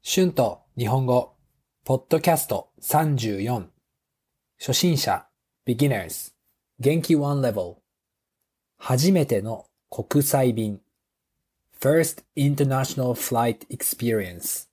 春と日本語、ポッドキャスト34、初心者、beginners、元気 one level、初めての国際便、first international flight experience。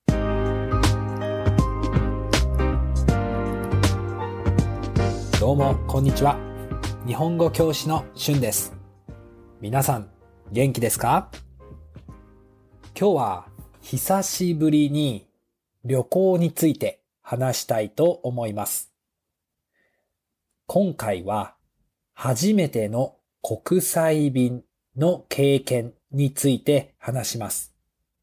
どうも、こんにちは。日本語教師の春です。皆さん、元気ですか？今日は久しぶりに旅行について話したいと思います。今回は初めての国際便の経験について話します。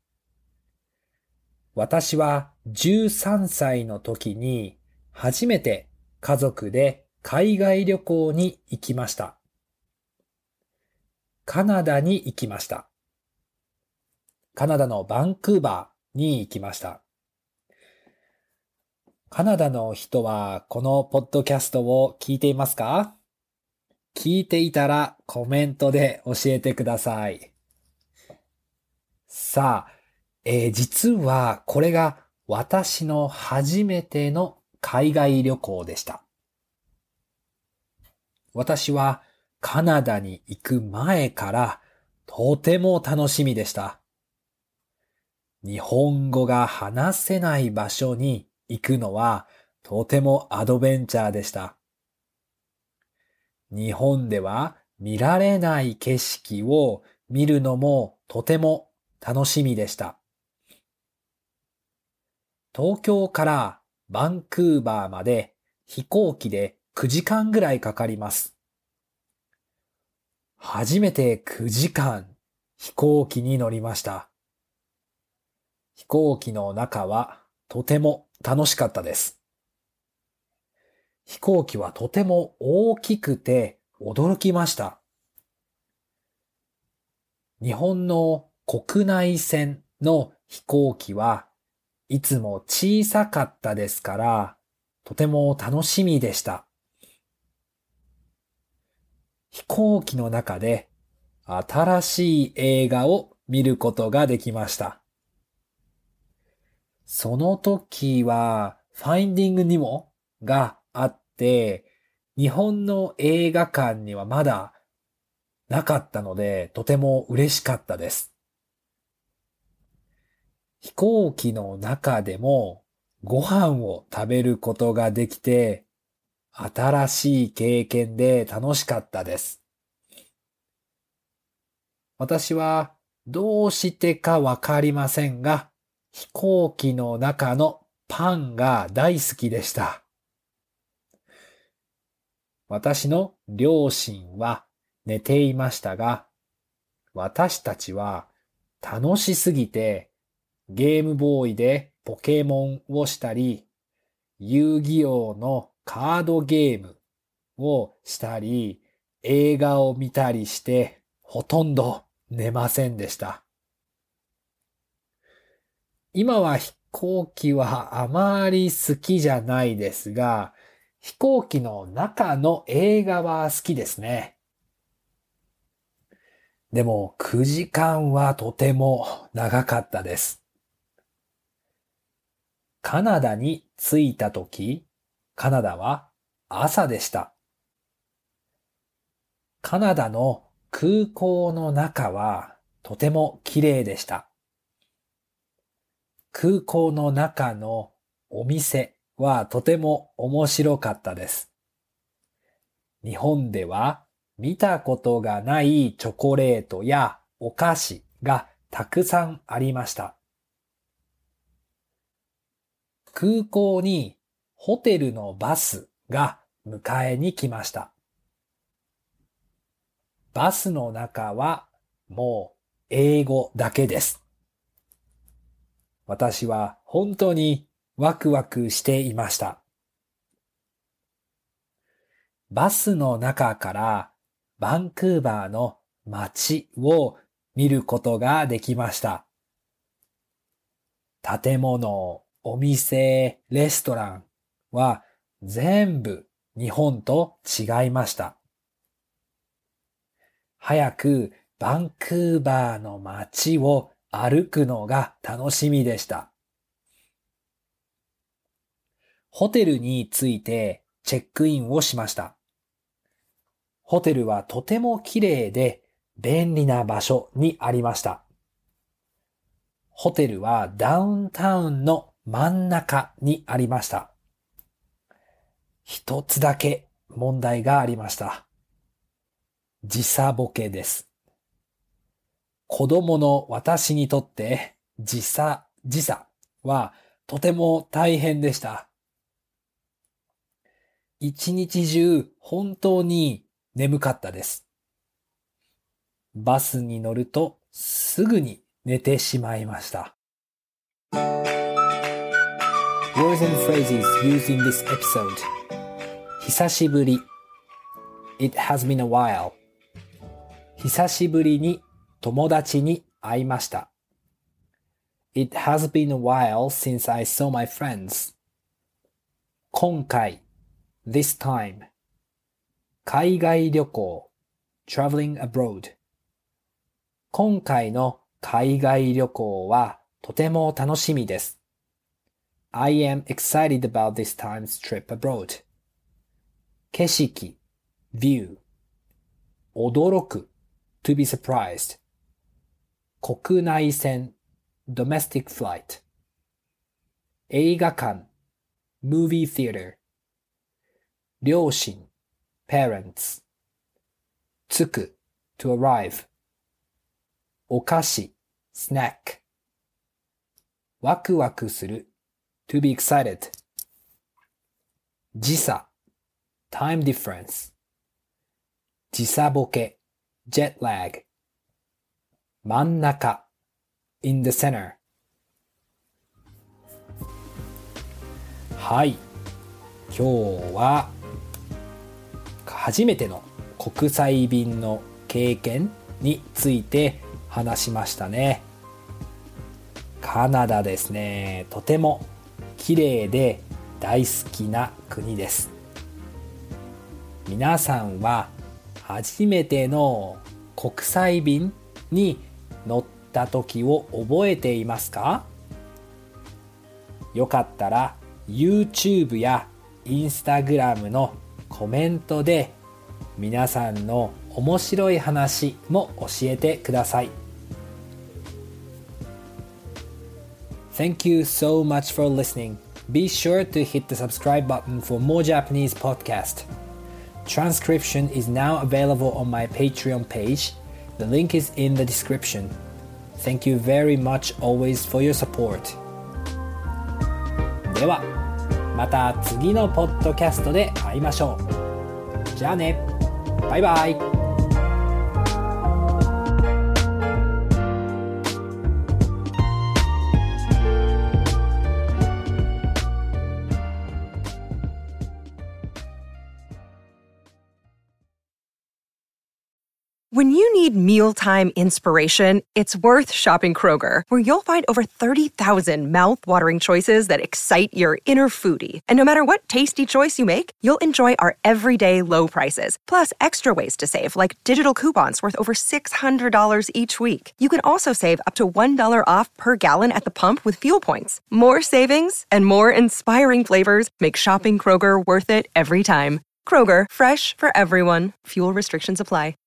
私は13歳の時に初めて家族で海外旅行に行きました。カナダに行きました。カナダのバンクーバーに行きました。カナダの人はこのポッドキャストを聞いていますか？聞いていたらコメントで教えてください。さあ、実はこれが私の初めての海外旅行でした。私はカナダに行く前からとても楽しみでした。日本語が話せない場所に行くのはとてもアドベンチャーでした。日本では見られない景色を見るのもとても楽しみでした。東京からバンクーバーまで飛行機で9時間ぐらいかかります。初めて9時間飛行機に乗りました。飛行機の中はとても楽しかったです。飛行機はとても大きくて驚きました。日本の国内線の飛行機はいつも小さかったですから、とても楽しみでした。飛行機の中で新しい映画を見ることができました。その時はファインディングニモがあって、日本の映画館にはまだなかったので、とても嬉しかったです。飛行機の中でもご飯を食べることができて、新しい経験で楽しかったです。私はどうしてかわかりませんが、飛行機の中のパンが大好きでした。私の両親は寝ていましたが、私たちは楽しすぎてゲームボーイでポケモンをしたり、遊戯王のカードゲームをしたり、映画を見たりして、ほとんど寝ませんでした。今は飛行機はあまり好きじゃないですが、飛行機の中の映画は好きですね。でも9時間はとても長かったです。カナダに着いたとき、カナダは朝でした。カナダの空港の中はとても綺麗でした。空港の中のお店はとても面白かったです。日本では見たことがないチョコレートやお菓子がたくさんありました。空港にホテルのバスが迎えに来ました。バスの中はもう英語だけです。私は本当にワクワクしていました。バスの中からバンクーバーの街を見ることができました。建物、お店、レストランは全部日本と違いました。早くバンクーバーの街を歩くのが楽しみでした。 ホテルに着いてチェックインをしました。ホテルはとても綺麗で便利な場所にありました。ホテルはダウンタウンの真ん中にありました。一つだけ問題がありました。時差ボケです。子供の私にとって時差はとても大変でした。一日中本当に眠かったです。バスに乗るとすぐに寝てしまいました。Words and phrases used in this episode. 久しぶり It has been a while. 久しぶりに友達に会いました。It has been a while since I saw my friends. 今回 This time. 海外旅行 Traveling abroad. 今回の海外旅行はとても楽しみです。I am excited about this time's trip abroad. 景色 View. 驚く To be surprised. 国内線 Domestic flight. 映画館 Movie theater. 両親 Parents. 着く To arrive. お菓子 Snack. ワクワクする To be excited. 時差 Time difference. 時差ボケ Jet lag. 真ん中 In the center. はい。今日は初めての国際便の経験について話しましたね。カナダですね。とても綺麗で大好きな国です。皆さんは初めての国際便に乗った時を覚えていますか？よかったら YouTube や Instagram のコメントで皆さんの面白い話も教えてください。Thank you so much for listening. Be sure to hit the subscribe button for more Japanese podcast. Transcription is now available on my Patreon page. The link is in the description. Thank you very much always for your support. では、また次のポッドキャストで会いましょう。じゃあね。バイバイ。 When you need mealtime inspiration, it's worth shopping Kroger, where you'll find over 30,000 mouth-watering choices that excite your inner foodie. And no matter what tasty choice you make, you'll enjoy our everyday low prices, plus extra ways to save, like digital coupons worth over $600 each week. You can also save up to $1 off per gallon at the pump with fuel points. More savings and more inspiring flavors make shopping Kroger worth it every time. Kroger, fresh for everyone. Fuel restrictions apply.